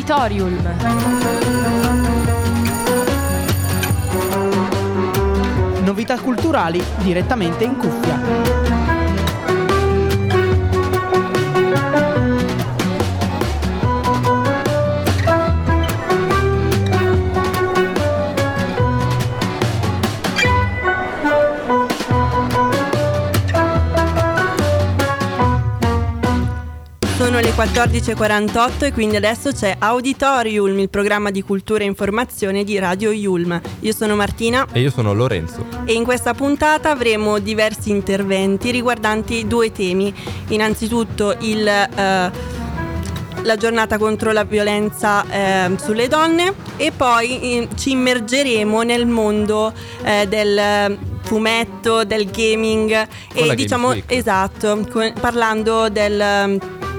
Auditorium. Novità culturali direttamente in cuffia. Sono le 14.48 e quindi adesso c'è Auditorium, il programma di cultura e informazione di Radio Yulm. Io sono Martina. E io sono Lorenzo. E in questa puntata avremo diversi interventi riguardanti due temi. Innanzitutto la giornata contro la violenza sulle donne e poi ci immergeremo nel mondo del fumetto, del gaming e diciamo esatto, parlando della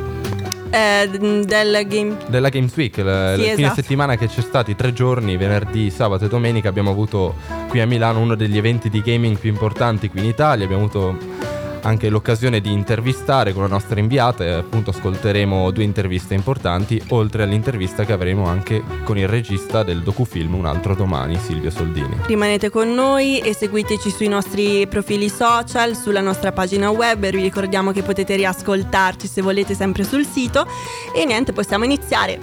Games Week, il fine settimana che c'è stati 3 giorni, venerdì, sabato e domenica. Abbiamo avuto qui a Milano uno degli eventi di gaming più importanti qui in Italia. Abbiamo avuto anche l'occasione di intervistare con la nostra inviata e appunto ascolteremo 2 interviste importanti, oltre all'intervista che avremo anche con il regista del docufilm Un altro domani, Silvio Soldini. Rimanete con noi e seguiteci sui nostri profili social, sulla nostra pagina web, e vi ricordiamo che potete riascoltarci se volete sempre sul sito. E niente, possiamo iniziare.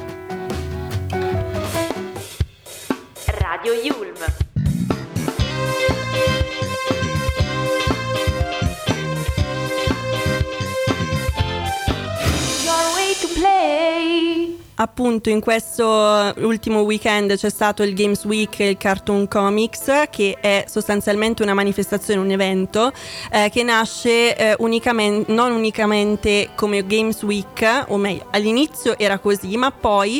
Radio Yulm. Appunto in questo ultimo weekend c'è stato il Games Week e il Cartoon Comics, che è sostanzialmente una manifestazione, un evento che nasce non unicamente come Games Week, o meglio all'inizio era così, ma poi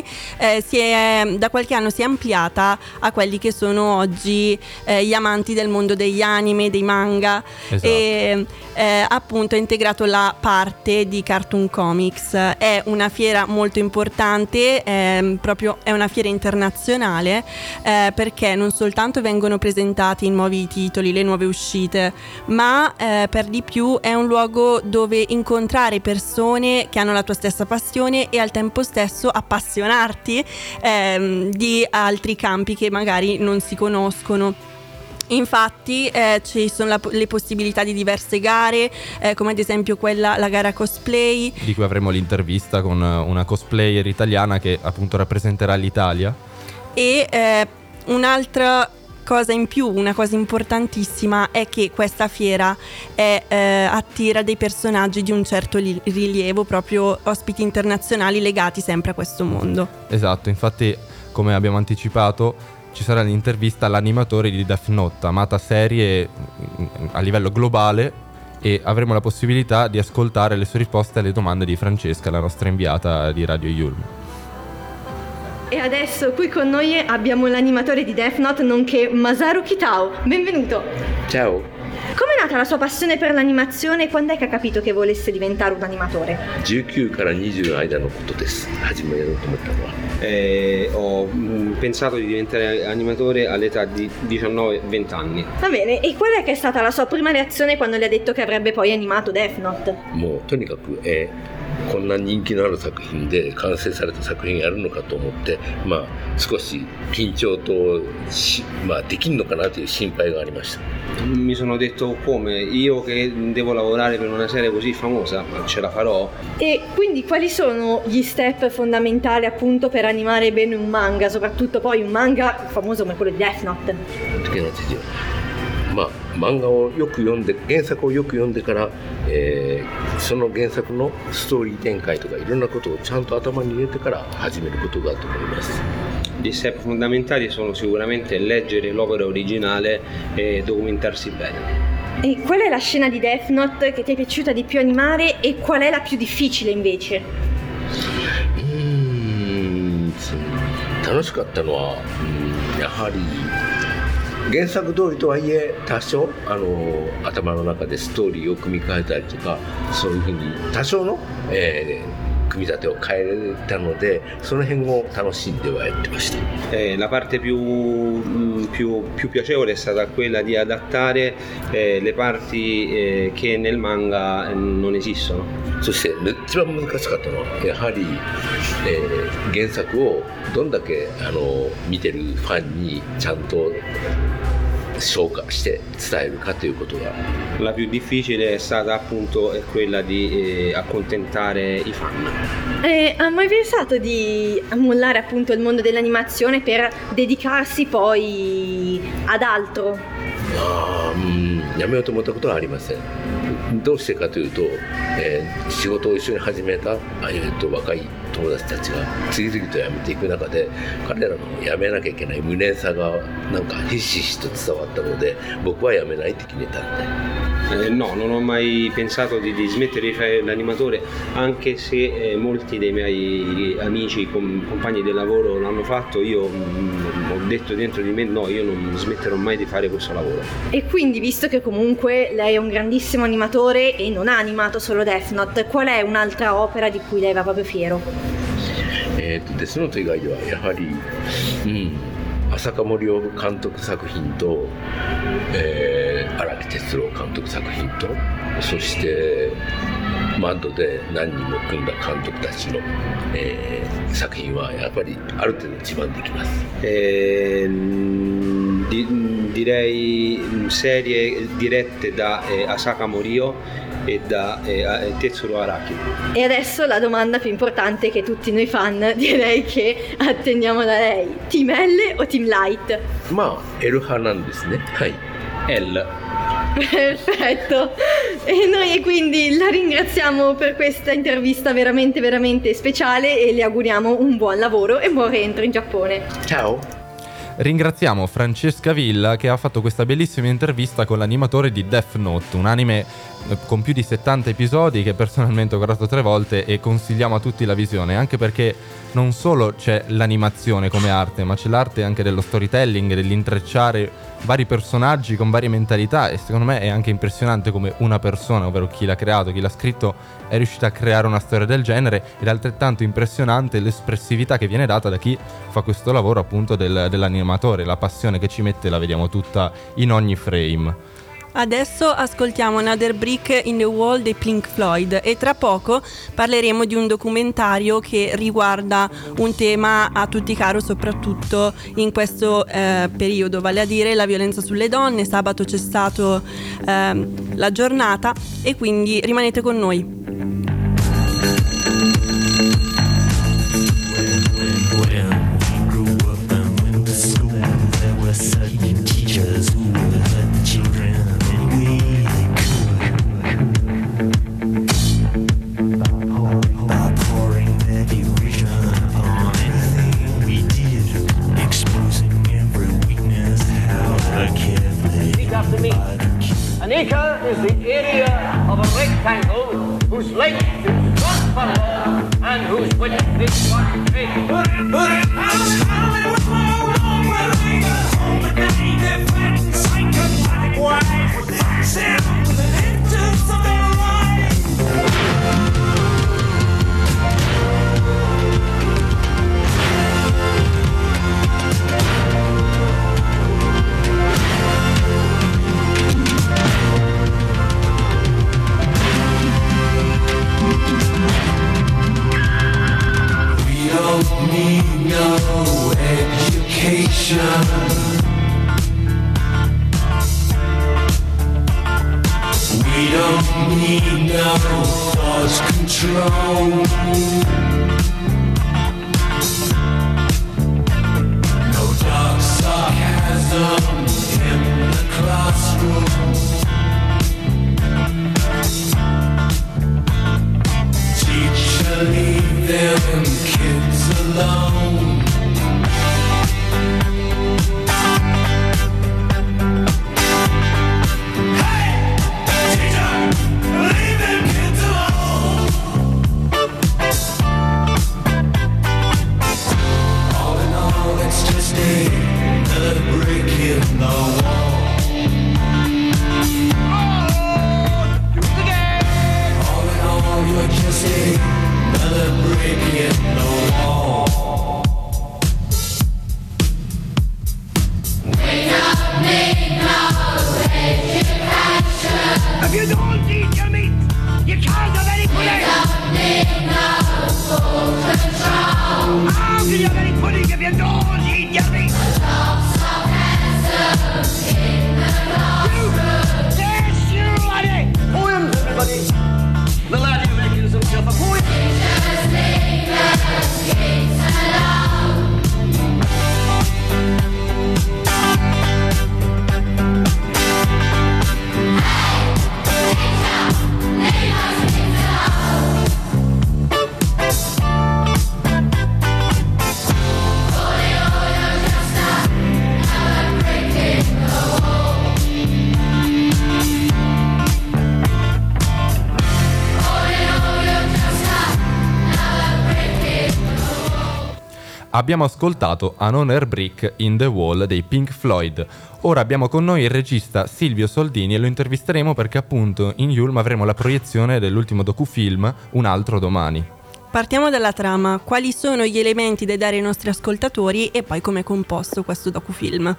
da qualche anno si è ampliata a quelli che sono oggi gli amanti del mondo degli anime, dei manga. Esatto. E appunto ha integrato la parte di Cartoon Comics. È una fiera molto importante, proprio è una fiera internazionale, perché non soltanto vengono presentati i nuovi titoli, le nuove uscite, ma per di più è un luogo dove incontrare persone che hanno la tua stessa passione e al tempo stesso appassionarti di altri campi che magari non si conoscono. Infatti ci sono le possibilità di diverse gare, come ad esempio la gara cosplay, di cui avremo l'intervista con una cosplayer italiana che appunto rappresenterà l'Italia. E un'altra cosa in più, una cosa importantissima, è che questa fiera attira dei personaggi di un certo rilievo, proprio ospiti internazionali legati sempre a questo mondo. Esatto, infatti come abbiamo anticipato ci sarà l'intervista all'animatore di Death Note, amata serie a livello globale, e avremo la possibilità di ascoltare le sue risposte alle domande di Francesca, la nostra inviata di Radio Yulm. E adesso qui con noi abbiamo l'animatore di Death Note, nonché Masaru Kitao. Benvenuto. Ciao. Com'è nata la sua passione per l'animazione e quando è che ha capito che volesse diventare un animatore? 19から20の間のことです。初めやろうと思ったのは。 Ho pensato di diventare animatore all'età di 19-20 anni. Va bene, e qual è che è stata la sua prima reazione quando le ha detto che avrebbe poi animato Death Note? もうとにかく、こんな人気のある作品で完成された作品やるのかと思って、少し緊張とできんのかなという心配がありました。 Mi sono detto, come io che devo lavorare per una serie così famosa, ma ce la farò? E quindi quali sono gli step fondamentali appunto per animare bene un manga, soprattutto poi un manga famoso come quello di Death Note? 漫画をよく読んで、原作をよく読んでから、その原作のストーリー展開とかいろんなことをちゃんと頭に入れてから始めることだと思います。 Gli step fondamentali sono sicuramente leggere l'opera originale e documentarsi bene. E qual è la scena di Death Note che ti è piaciuta di più animare e qual è la più difficile invece? 楽しかったのは、やはり原作通りとはいえ多少頭の中でストーリーを組み替えたりとか、そういうふうに多少の、工組み立てを変えれたので、その辺を楽しんではやってました。 La parte più piacevole è stata quella di adattare le parti che nel manga non esistono. そして一番難しかったのはやはり、原作をどんだけ見てるファンにちゃんと消化して伝えるかということが。 La più difficile è stata appunto quella di accontentare i fan. Ha mai pensato di mollare appunto il mondo dell'animazione per dedicarsi poi ad altro? やめようと思ったことはありません。どうしてかというと、仕事を一緒に始めた若い友達たちが次々と辞めていく中で、彼らの辞めなきゃいけない無念さがなんかひしひしと伝わったので、僕は辞めないって決めたんで。 No, non ho mai pensato di smettere di fare l'animatore, anche se molti dei miei amici, compagni di lavoro l'hanno fatto. Io ho detto dentro di me no, io non smetterò mai di fare questo lavoro. E quindi, visto che comunque lei è un grandissimo animatore e non ha animato solo Death Note, qual è un'altra opera di cui lei va proprio fiero? Death Note 以外ではやはり、浅香森生監督作品と、荒木哲郎監督作品と、そしてマッドで何人も組んだ監督たちの、作品はやっぱりある程度自慢できます。 Direi serie dirette da Asaka Morio e da Tetsuro Araki. E adesso la domanda più importante che tutti noi fan direi che attendiamo da lei: Team L o Team Light? まあ L 派なんですね。はい。 L. Perfetto, e noi quindi la ringraziamo per questa intervista veramente veramente speciale e le auguriamo un buon lavoro e buon rientro in Giappone. Ciao. Ringraziamo Francesca Villa che ha fatto questa bellissima intervista con l'animatore di Death Note, un anime con più di 70 episodi che personalmente ho guardato 3 volte e consigliamo a tutti la visione, anche perché non solo c'è l'animazione come arte, ma c'è l'arte anche dello storytelling, dell'intrecciare vari personaggi con varie mentalità, e secondo me è anche impressionante come una persona, ovvero chi l'ha creato, chi l'ha scritto, è riuscita a creare una storia del genere, ed è altrettanto impressionante l'espressività che viene data da chi fa questo lavoro appunto dell'animatore, la passione che ci mette la vediamo tutta in ogni frame. Adesso ascoltiamo Another Brick in the Wall dei Pink Floyd e tra poco parleremo di un documentario che riguarda un tema a tutti caro soprattutto in questo periodo, vale a dire la violenza sulle donne. Sabato c'è stato la giornata e quindi rimanete con noi. An acre is the area of a rectangle whose length is 1 furlong and whose width is 1 cubit. Need no education. We don't need no thought control. No dark sarcasm in the classroom. Teacher, leave them kids alone. Hey, teacher, leave them kids alone. All in all, it's just another brick in the wall. Oh, do it again. All in all, you're just another brick in the wall. If you don't eat your meat, you can't have any pudding. How can you have any pudding if you don't eat your meat? Yes, you laddie! Poems, everybody! The laddie reckons himself a poet. Abbiamo ascoltato Another Brick in the Wall dei Pink Floyd. Ora abbiamo con noi il regista Silvio Soldini e lo intervisteremo perché appunto in Yulm avremo la proiezione dell'ultimo docufilm Un altro domani. Partiamo dalla trama. Quali sono gli elementi da dare ai nostri ascoltatori e poi come è composto questo docufilm?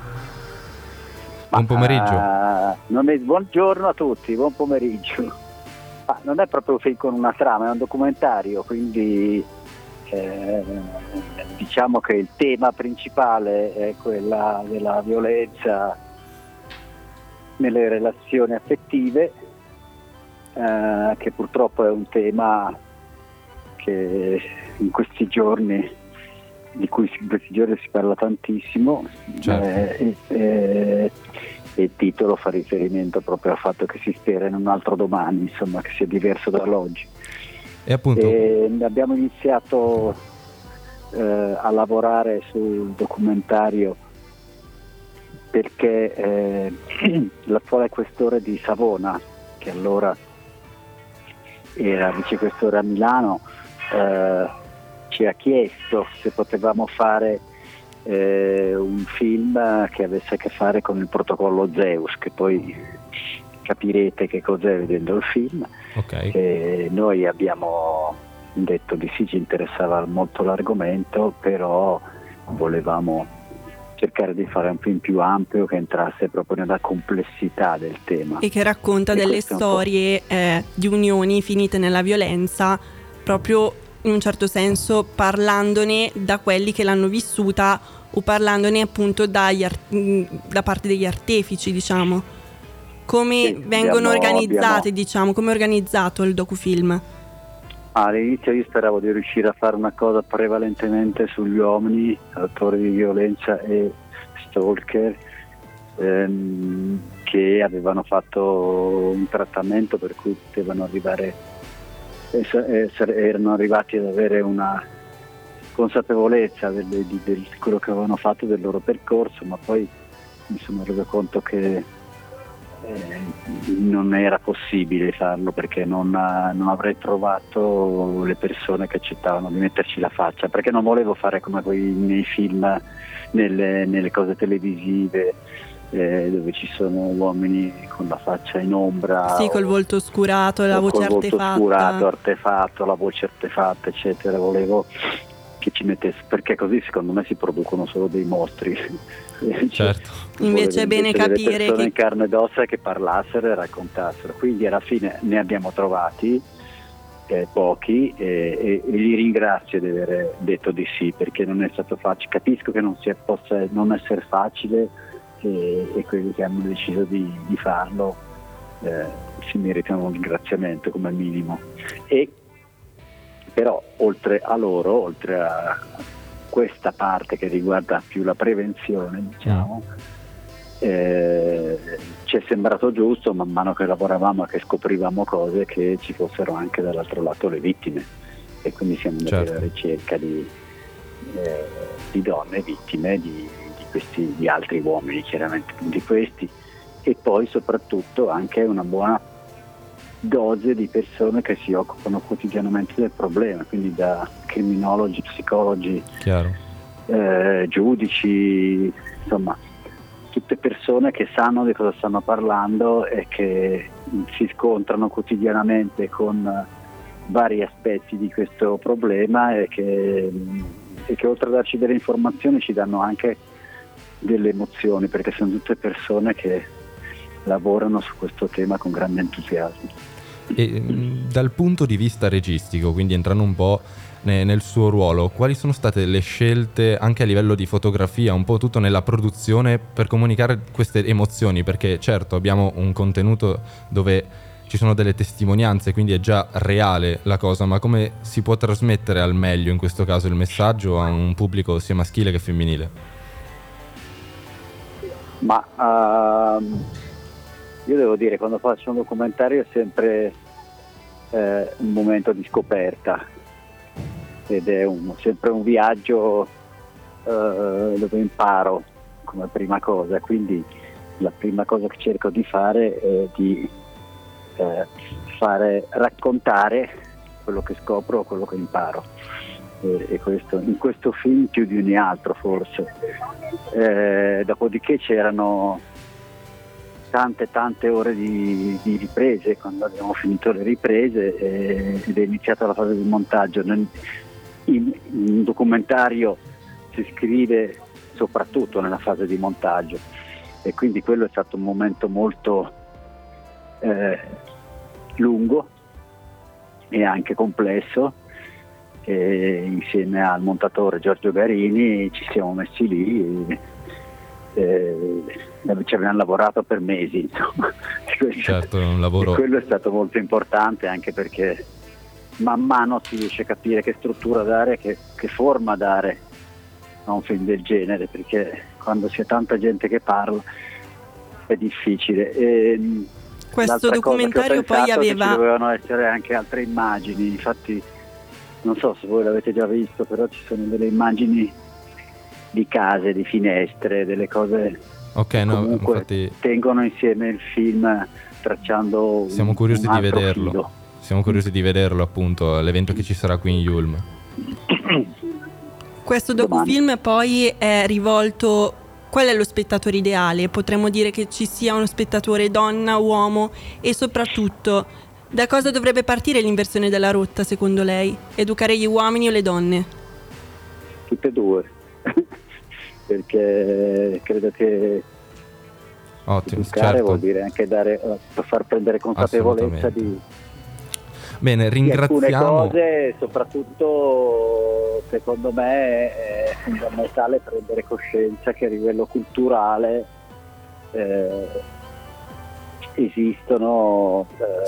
Buon pomeriggio. Buongiorno a tutti, buon pomeriggio. Non è proprio un film con una trama, è un documentario, quindi diciamo che il tema principale è quella della violenza nelle relazioni affettive, che purtroppo è un tema che in questi giorni si parla tantissimo. Certo. E il titolo fa riferimento proprio al fatto che si spera in un altro domani, insomma, che sia diverso dall'oggi. E appunto abbiamo iniziato a lavorare sul documentario perché l'attuale questore di Savona, che allora era vicequestore a Milano, ci ha chiesto se potevamo fare un film che avesse a che fare con il protocollo Zeus, che poi capirete che cos'è vedendo il film. Okay. Noi abbiamo detto di sì, ci interessava molto l'argomento, però volevamo cercare di fare un film più ampio che entrasse proprio nella complessità del tema. E che racconta delle storie di unioni finite nella violenza, proprio in un certo senso parlandone da quelli che l'hanno vissuta o parlandone appunto da parte degli artefici, diciamo. Come vengono organizzate, diciamo, come è organizzato il docufilm? All'inizio io speravo di riuscire a fare una cosa prevalentemente sugli uomini, autori di violenza e stalker, che avevano fatto un trattamento per cui potevano arrivare, erano arrivati ad avere una consapevolezza di quello che avevano fatto, del loro percorso, ma poi mi sono reso conto che non era possibile farlo perché non avrei trovato le persone che accettavano di metterci la faccia, perché non volevo fare come nei film, nelle cose televisive, dove ci sono uomini con la faccia in ombra, sì, col volto oscurato, la voce artefatta, la voce artefatta, eccetera. Volevo che ci mettesse, perché così secondo me si producono solo dei mostri. Certo. Invece è bene capire persone che in carne ed ossa che parlassero e raccontassero. Quindi alla fine ne abbiamo trovati pochi e li ringrazio di aver detto di sì, perché non è stato facile. Capisco che possa non essere facile, e quelli che hanno deciso di farlo si meritano un ringraziamento come minimo. E però oltre a loro, oltre a questa parte che riguarda più la prevenzione, diciamo, ci è sembrato giusto, man mano che lavoravamo e che scoprivamo cose, che ci fossero anche dall'altro lato le vittime, e quindi siamo andati alla ricerca di donne vittime di altri uomini, chiaramente di questi, e poi soprattutto anche una buona dose di persone che si occupano quotidianamente del problema, quindi da criminologi, psicologi, giudici, insomma tutte persone che sanno di cosa stanno parlando e che si scontrano quotidianamente con vari aspetti di questo problema e che oltre a darci delle informazioni ci danno anche delle emozioni, perché sono tutte persone che lavorano su questo tema con grande entusiasmo. E dal punto di vista registico, quindi entrando un po' nel suo ruolo, quali sono state le scelte anche a livello di fotografia, un po' tutto nella produzione, per comunicare queste emozioni? Perché certo abbiamo un contenuto dove ci sono delle testimonianze, quindi è già reale la cosa, ma come si può trasmettere al meglio in questo caso il messaggio a un pubblico sia maschile che femminile? Ma io devo dire, quando faccio un documentario è sempre un momento di scoperta ed è sempre un viaggio dove imparo come prima cosa, quindi la prima cosa che cerco di fare è di raccontare quello che scopro, quello che imparo, e questo, in questo film più di ogni altro forse. Dopodiché c'erano tante ore di riprese. Quando abbiamo finito le riprese ed è iniziata la fase di montaggio. In un documentario si scrive soprattutto nella fase di montaggio, e quindi quello è stato un momento molto lungo e anche complesso, e insieme al montatore Giorgio Garini ci siamo messi lì ci abbiamo lavorato per mesi, insomma. Certo, un lavoro. E quello è stato molto importante, anche perché man mano si riesce a capire che struttura dare, che forma dare a un film del genere, perché quando c'è tanta gente che parla è difficile. Questo documentario poi aveva... Ci dovevano essere anche altre immagini, infatti non so se voi l'avete già visto, però ci sono delle immagini di case, di finestre, delle cose che comunque infatti tengono insieme il film, tracciando siamo curiosi di vederlo filo. Siamo curiosi di vederlo, appunto, all'evento che ci sarà qui in Yulm. Questo docufilm poi è rivolto... Qual è lo spettatore ideale? Potremmo dire che ci sia uno spettatore donna, uomo, e soprattutto da cosa dovrebbe partire l'inversione della rotta secondo lei? Educare gli uomini o le donne? Tutte e due, perché credo che educare vuol dire anche far prendere consapevolezza di Bene, ringraziamo. Di alcune cose, soprattutto secondo me è fondamentale prendere coscienza che a livello culturale esistono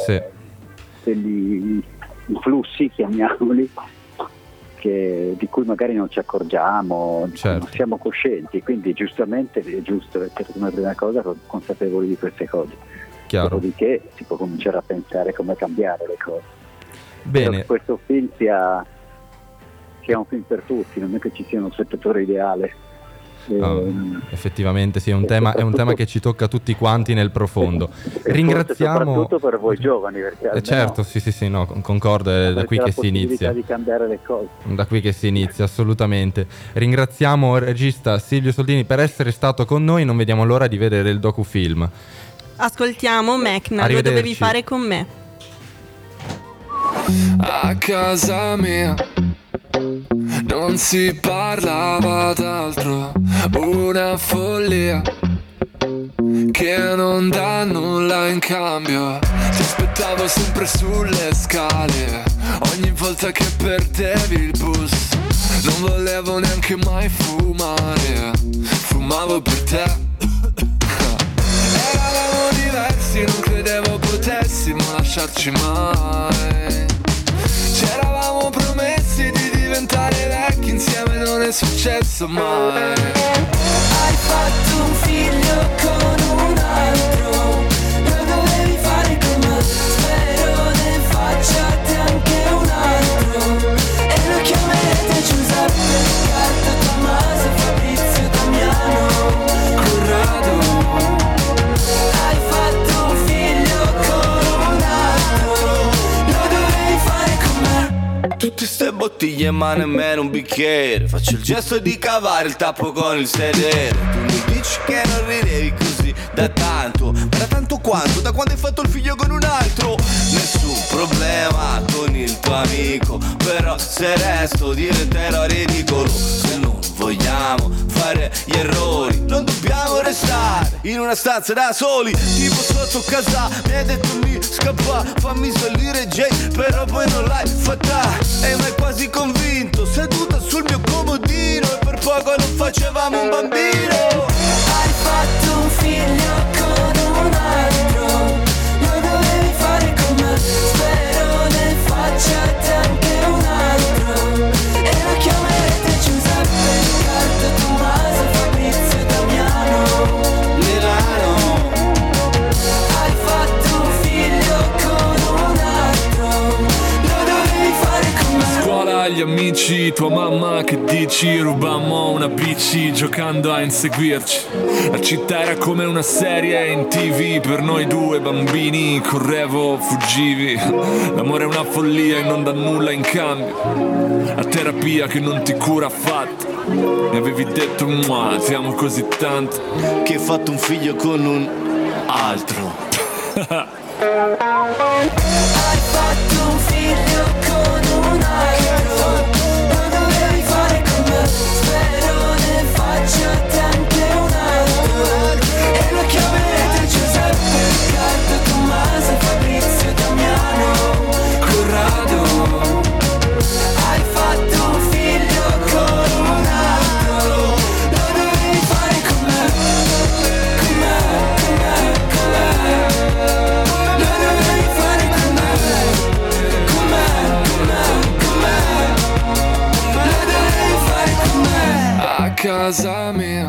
degli influssi, chiamiamoli, di cui magari non ci accorgiamo, non siamo coscienti, quindi giustamente è giusto essere come prima cosa consapevoli di queste cose. Chiaro. Dopodiché si può cominciare a pensare come cambiare le cose. Bene. Che questo film sia un film per tutti, non è che ci sia uno spettatore ideale. Effettivamente sì, è un tema che ci tocca tutti quanti nel profondo. Ringraziamo soprattutto per voi giovani, perché certo, sì, no, concordo, è da qui che si inizia. Di cambiare le cose. Da qui che si inizia, assolutamente. Ringraziamo il regista Silvio Soldini per essere stato con noi, non vediamo l'ora di vedere il docufilm. Ascoltiamo Mecna, lo dovevi fare con me. A casa mia non si parlava d'altro, una follia che non dà nulla in cambio. Ti aspettavo sempre sulle scale, ogni volta che perdevi il bus. Non volevo neanche mai fumare, fumavo per te. Eravamo diversi, non credevo potessimo lasciarci mai. C'eravamo promessi di diventare vecchi insieme, non è successo mai. Hai fatto un figlio con un altro, lo dovevi fare con me. Spero ne facciate anche un altro, e lo chiamerete Giuseppe, Riccardo, Tommaso, Fabrizio, Damiano, Corrado. Hai fatto un figlio con un altro, lo dovevi fare con me. Tutte ste bottiglie ma nemmeno un bicchiere, faccio il gesto di cavare il tappo con il sedere. Tu mi dici che non ridevi così, così da tanto. Ma da tanto quanto? Da quando hai fatto il figlio con un altro? Nessun problema con il tuo amico, però se resto diventerò ridicolo. Se non vogliamo fare gli errori, non dobbiamo restare in una stanza da soli, tipo sotto casa. Mi hai detto mi scappa, fammi salire Jay, però poi non l'hai fatta. E mi hai quasi convinto, seduta sul mio comodino, e per poco non facevamo un bambino. Hai fatto un figlio con un altro, lo dovevi fare con me. Spero ne faccia te anche un altro, e lo chiamerete Giuseppe, Riccardo, Tommaso, Fabrizio e Damiano. Milano. Hai fatto un figlio con un altro, lo dovevi fare con me. Scuola, gli amici, tua mamma che dici? Rubammo una bici giocando a inseguirci. La città era come una serie in TV per noi due bambini. Correvo, fuggivi. L'amore è una follia e non dà nulla in cambio. La terapia che non ti cura affatto. Mi avevi detto ti amo così tanto che hai fatto un figlio con un altro. Hai fatto un figlio con un altro, lo dovevi fare con me. Spero ne faccia te anche un altro, e lo chiamerete Giuseppe, Riccardo, Tommaso, Fabrizio e Damiano. Corrado. Hai fatto un figlio con un altro, lo dovevi fare con me. Con me, con me, con me. Lo dovevi fare con me. Con me, con me, con me. Lo dovevi fare con me. A casa mia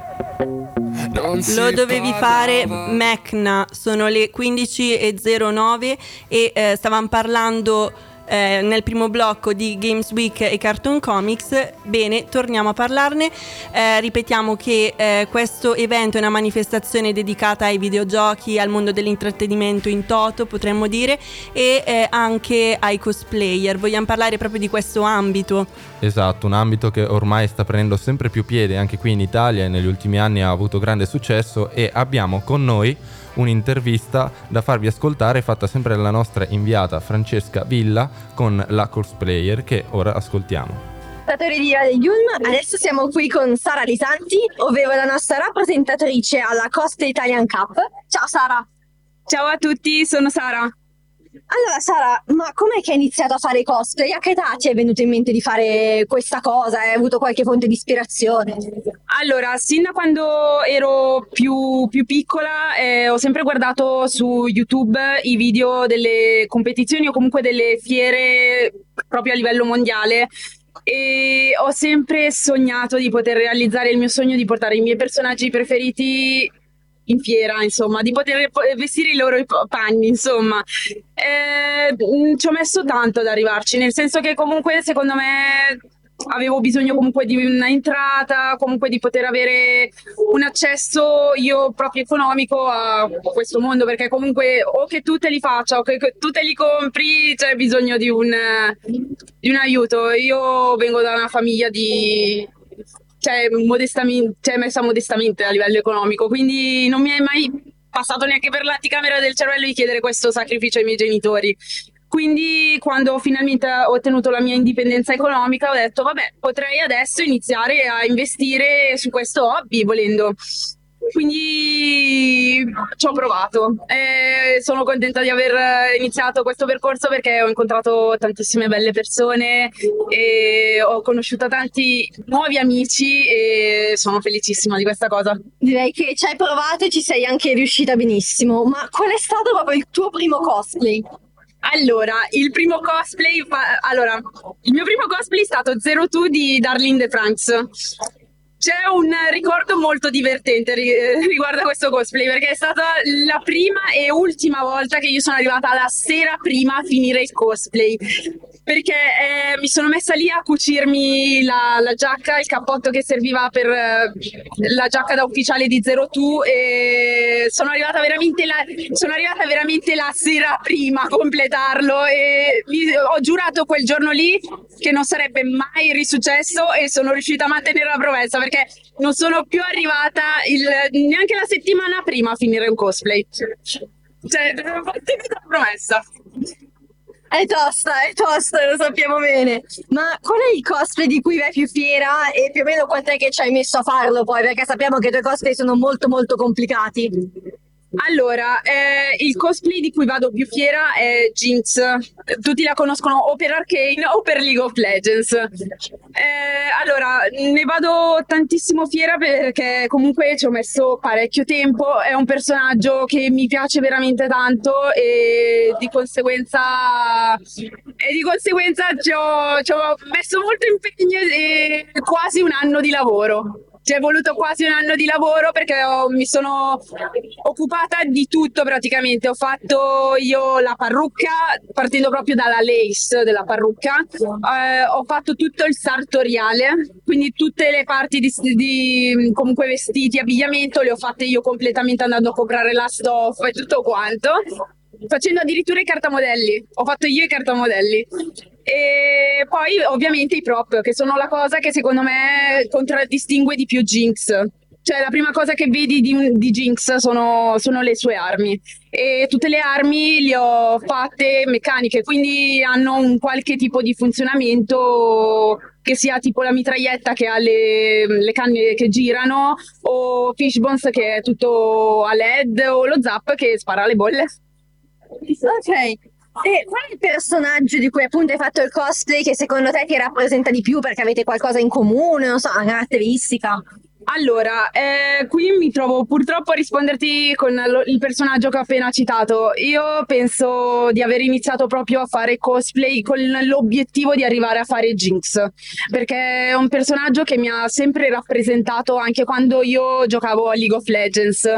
non si Lo dovevi parla fare, mai. Mecna. Sono le 15:09 e stavamo parlando nel primo blocco di Games Week e Cartoon Comics. Bene, torniamo a parlarne. Ripetiamo che questo evento è una manifestazione dedicata ai videogiochi, al mondo dell'intrattenimento in toto, potremmo dire, e anche ai cosplayer. Vogliamo parlare proprio di questo ambito. Esatto, un ambito che ormai sta prendendo sempre più piede anche qui in Italia e negli ultimi anni ha avuto grande successo, e abbiamo con noi un'intervista da farvi ascoltare fatta sempre dalla nostra inviata Francesca Villa con la cosplayer, che ora ascoltiamo. Ascoltatori di Radio Yulm, adesso siamo qui con Sara Lisanti, ovvero la nostra rappresentatrice alla Cosplay Italian Cup. Ciao Sara! Ciao a tutti, sono Sara. Allora Sara, ma com'è che hai iniziato a fare cosplay? A che età ti è venuto in mente di fare questa cosa? Hai avuto qualche fonte di ispirazione? Allora, sin da quando ero più piccola ho sempre guardato su YouTube i video delle competizioni o comunque delle fiere proprio a livello mondiale, e ho sempre sognato di poter realizzare il mio sogno di portare i miei personaggi preferiti in fiera, insomma, di poter vestire i loro panni, insomma. Ci ho messo tanto ad arrivarci, nel senso che comunque secondo me avevo bisogno comunque di una entrata, comunque di poter avere un accesso io proprio economico a questo mondo, perché comunque o che tu te li faccia o che tu te li compri c'è bisogno di un aiuto. Io vengo da una famiglia messa modestamente a livello economico, quindi non mi è mai passato neanche per l'anticamera del cervello di chiedere questo sacrificio ai miei genitori. Quindi quando finalmente ho ottenuto la mia indipendenza economica ho detto vabbè, potrei adesso iniziare a investire su questo hobby volendo. Quindi ci ho provato e sono contenta di aver iniziato questo percorso, perché ho incontrato tantissime belle persone e ho conosciuto tanti nuovi amici e sono felicissima di questa cosa. Direi che ci hai provato e ci sei anche riuscita benissimo, ma qual è stato proprio il tuo primo cosplay? Allora, il mio primo cosplay è stato Zero Two di Darlene de France. C'è un ricordo molto divertente riguardo a questo cosplay, perché è stata la prima e ultima volta che io sono arrivata la sera prima a finire il cosplay. perché mi sono messa lì a cucirmi la giacca, il cappotto che serviva per la giacca da ufficiale di Zero Two, e sono arrivata veramente la sera prima a completarlo, e ho giurato quel giorno lì che non sarebbe mai risuccesso, e sono riuscita a mantenere la promessa, perché non sono più arrivata neanche la settimana prima a finire un cosplay. Cioè, ho mantenuto la promessa. È tosta, lo sappiamo bene. Ma qual è il cosplay di cui vai più fiera e più o meno quant'è che ci hai messo a farlo poi? Perché sappiamo che i tuoi cosplay sono molto molto complicati. Allora, il cosplay di cui vado più fiera è Jinx. Tutti la conoscono o per Arcane o per League of Legends. Allora, ne vado tantissimo fiera perché comunque ci ho messo parecchio tempo. È un personaggio che mi piace veramente tanto, e di conseguenza ci ho messo molto impegno e quasi un anno di lavoro. Ci è voluto quasi un anno di lavoro, perché mi sono occupata di tutto praticamente. Ho fatto io la parrucca, partendo proprio dalla lace della parrucca. Ho fatto tutto il sartoriale, quindi tutte le parti di comunque vestiti, abbigliamento, le ho fatte io completamente, andando a comprare la stoffa e tutto quanto. Facendo addirittura i cartamodelli. Ho fatto io i cartamodelli. E poi ovviamente i prop, che sono la cosa che secondo me contraddistingue di più Jinx. Cioè, la prima cosa che vedi di Jinx sono le sue armi, e tutte le armi le ho fatte meccaniche, quindi hanno un qualche tipo di funzionamento, che sia tipo la mitraglietta che ha le canne che girano, o Fishbones che è tutto a LED, o lo Zap che spara le bolle. Ok. E qual è il personaggio di cui appunto hai fatto il cosplay che secondo te ti rappresenta di più, perché avete qualcosa in comune, non so, una caratteristica? Allora, qui mi trovo purtroppo a risponderti con il personaggio che ho appena citato. Io penso di aver iniziato proprio a fare cosplay con l'obiettivo di arrivare a fare Jinx, perché è un personaggio che mi ha sempre rappresentato anche quando io giocavo a League of Legends.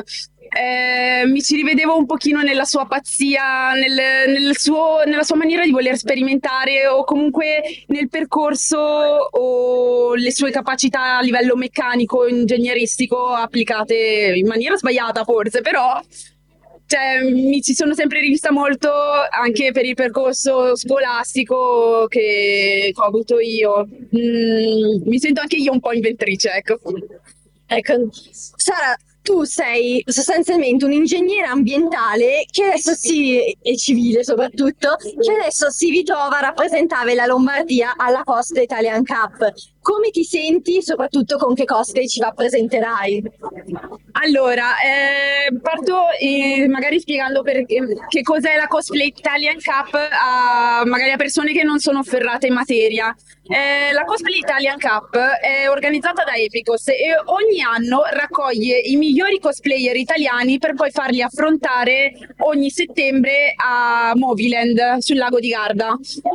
Mi ci rivedevo un pochino nella sua pazzia, nella sua maniera di voler sperimentare, o comunque nel percorso, o le sue capacità a livello meccanico, ingegneristico, applicate in maniera sbagliata forse, però cioè, mi ci sono sempre rivista molto anche per il percorso scolastico che ho avuto io. Mi sento anche io un po' inventrice, ecco. Ecco, Sara, tu sei sostanzialmente un ingegnere ambientale che adesso e civile soprattutto, che adesso si ritrova a rappresentare la Lombardia alla Cosplay Italian Cup. Come ti senti, soprattutto con che cosplay ci rappresenterai? Allora, parto magari spiegando che cos'è la Cosplay Italian Cup magari a persone che non sono ferrate in materia. La Cosplay Italian Cup è organizzata da Epicos e ogni anno raccoglie i migliori cosplayer italiani per poi farli affrontare ogni settembre a Moviland sul lago di Garda.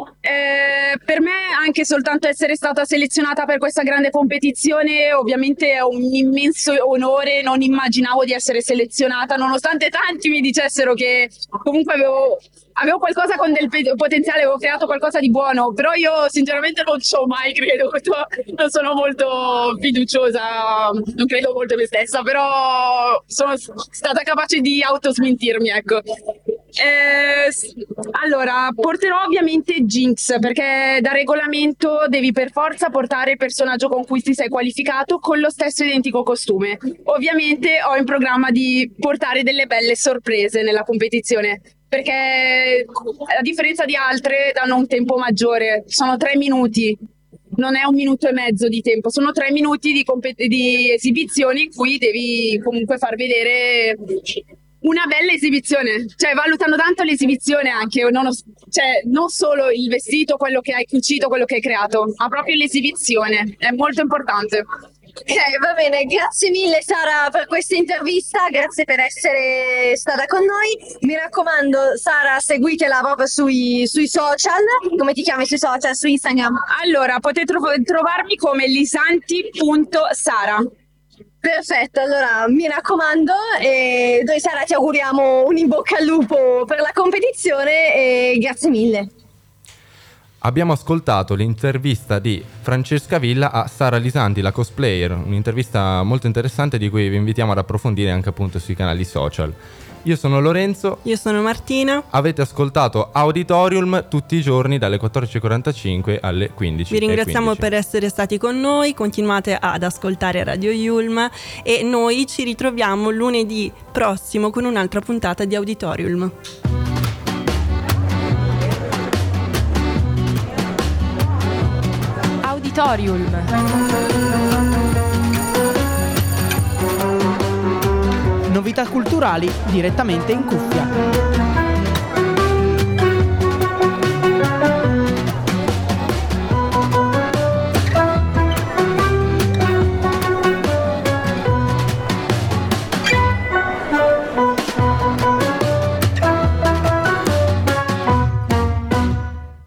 Per me anche soltanto essere stata selezionata per questa grande competizione ovviamente è un immenso onore. Non immaginavo di essere selezionata, nonostante tanti mi dicessero che comunque avevo qualcosa con del potenziale, avevo creato qualcosa di buono, però io sinceramente non ci ho mai credo, non sono molto fiduciosa, non credo molto in me stessa, però sono stata capace di autosmentirmi, ecco. Allora, porterò ovviamente Jinx, perché da regolamento devi per forza portare il personaggio con cui ti sei qualificato con lo stesso identico costume. Ovviamente ho in programma di portare delle belle sorprese nella competizione, perché a differenza di altre danno un tempo maggiore, sono 3 minuti, non è 1 minuto e mezzo di tempo, sono 3 minuti di esibizioni in cui devi comunque far vedere una bella esibizione, cioè valutano tanto l'esibizione anche, non solo il vestito, quello che hai cucito, quello che hai creato, ma proprio l'esibizione, è molto importante. Ok, va bene, grazie mille Sara per questa intervista, grazie per essere stata con noi. Mi raccomando Sara, seguitela proprio sui social. Come ti chiami sui social, su Instagram? Allora, potete trovarmi come lisanti.sara. Perfetto, allora mi raccomando, e noi Sara ti auguriamo un in bocca al lupo per la competizione e grazie mille. abbiamo ascoltato l'intervista di Francesca Villa a Sara Lisanti, la cosplayer, un'intervista molto interessante di cui vi invitiamo ad approfondire anche appunto sui canali social. Io sono Lorenzo. Io sono Martina. Avete ascoltato Auditorium tutti i giorni dalle 14.45 alle 15. Vi ringraziamo per essere stati con noi, continuate ad ascoltare Radio Yulm e noi ci ritroviamo lunedì prossimo con un'altra puntata di Auditorium. Auditorium. Novità culturali direttamente in cuffia.